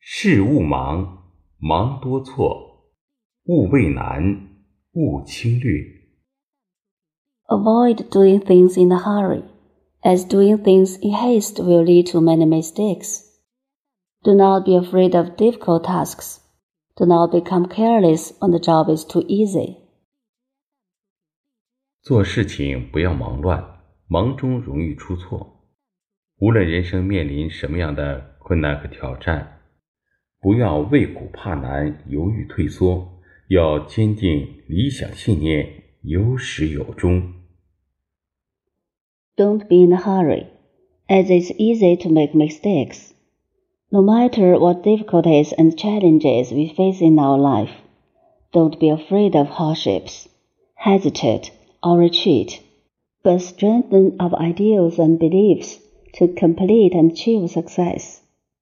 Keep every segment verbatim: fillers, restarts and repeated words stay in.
事勿忙，忙多错；勿畏难，勿轻略。 Avoid doing things in a hurry, as doing things in haste will lead to many mistakes. Do not be afraid of difficult tasks. Do not become careless when the job is too easy. 做事情不要忙乱，忙中容易出错。无论人生面临什么样的困难和挑战，不要畏苦怕难，犹豫退缩，要坚定理想信念，有始有终。 Don't be in a hurry, as it's easy to make mistakes. No matter what difficulties and challenges we face in our life, don't be afraid of hardships, hesitate, or retreat, but strengthen our ideals and beliefs to complete and achieve success.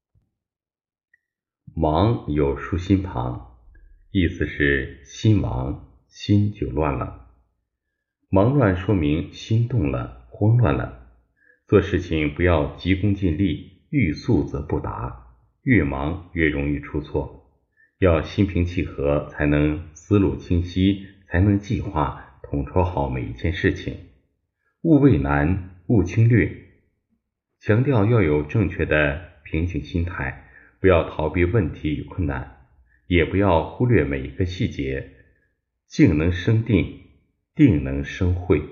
忙有竖心旁，意思是心忙，心就乱了。忙乱说明心动了，慌乱了。做事情不要急功近利，欲速则不达，越忙越容易出错。要心平气和，才能思路清晰，才能计划统筹好每一件事情。勿畏难，勿轻略，强调要有正确的平静心态，不要逃避问题与困难，也不要忽略每一个细节。静能生定，定能生慧。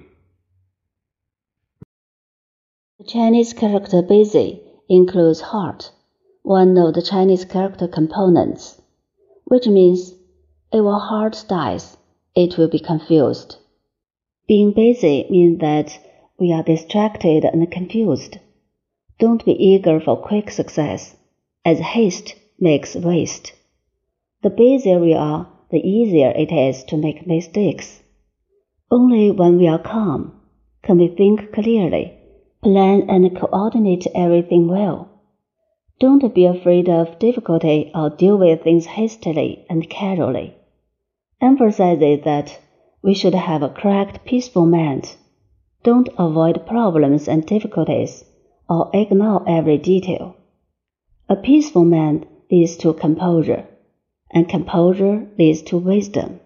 The Chinese character busy includes heart, one of the Chinese character components, which means if our heart dies, it will be confused. Being busy means that we are distracted and confused. Don't be eager for quick success, as haste makes waste. The busier we are, the easier it is to make mistakes. Only when we are calm can we think clearly, plan and coordinate everything well. Don't be afraid of difficulty or deal with things hastily and casually. Emphasize that we should have a correct, peaceful mind. Don't avoid problems and difficulties or ignore every detail. A peaceful mind leads to composure, and composure leads to wisdom.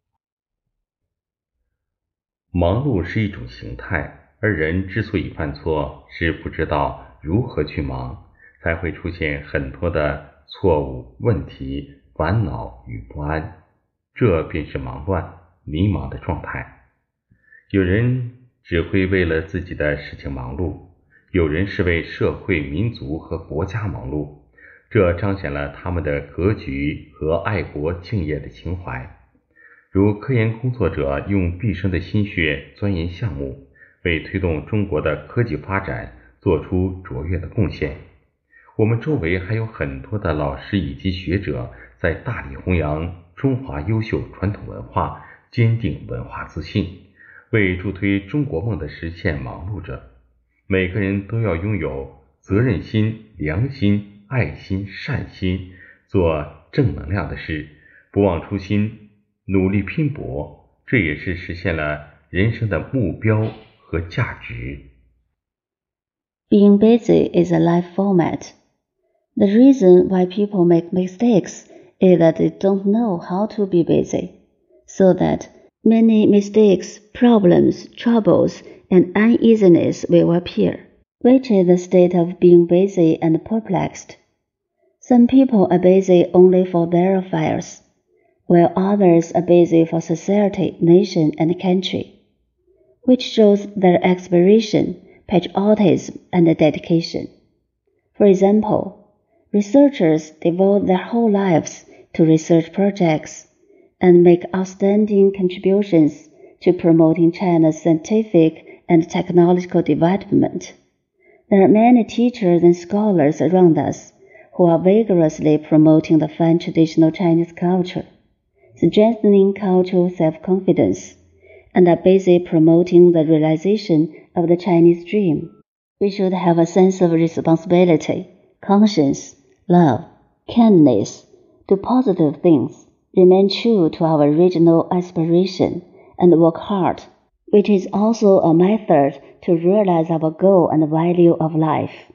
忙碌是一种形态，而人之所以犯错，是不知道如何去忙，才会出现很多的错误、问题、烦恼与不安，这便是忙乱、迷茫的状态。有人只会为了自己的事情忙碌，有人是为社会、民族和国家忙碌，这彰显了他们的格局和爱国敬业的情怀。如科研工作者用毕生的心血钻研项目，为推动中国的科技发展做出卓越的贡献。我们周围还有很多的老师以及学者在大力弘扬中华优秀传统文化，坚定文化自信，为助推中国梦的实现忙碌着。每个人都要拥有责任心、良心、爱心、善心，做正能量的事，不忘初心，努力拼搏，这也是实现了人生的目标和价值。 Being busy is a life format. The reason why people make mistakes is that they don't know how to be busy, so that many mistakes, problems, troubles, and uneasiness will appear, which is the state of being busy and perplexed. Some people are busy only for their affairs, while others are busy for society, nation, and country, which shows their aspiration, patriotism, and dedication. For example, researchers devote their whole lives to research projects and make outstanding contributions to promoting China's scientific and technological development. There are many teachers and scholars around us who are vigorously promoting the fine traditional Chinese culture, strengthening cultural self-confidence, and are busy promoting the realization of the Chinese dream. We should have a sense of responsibility, conscience, love, kindness, do positive things, remain true to our original aspiration, and work hard, which is also a method to realize our goal and value of life.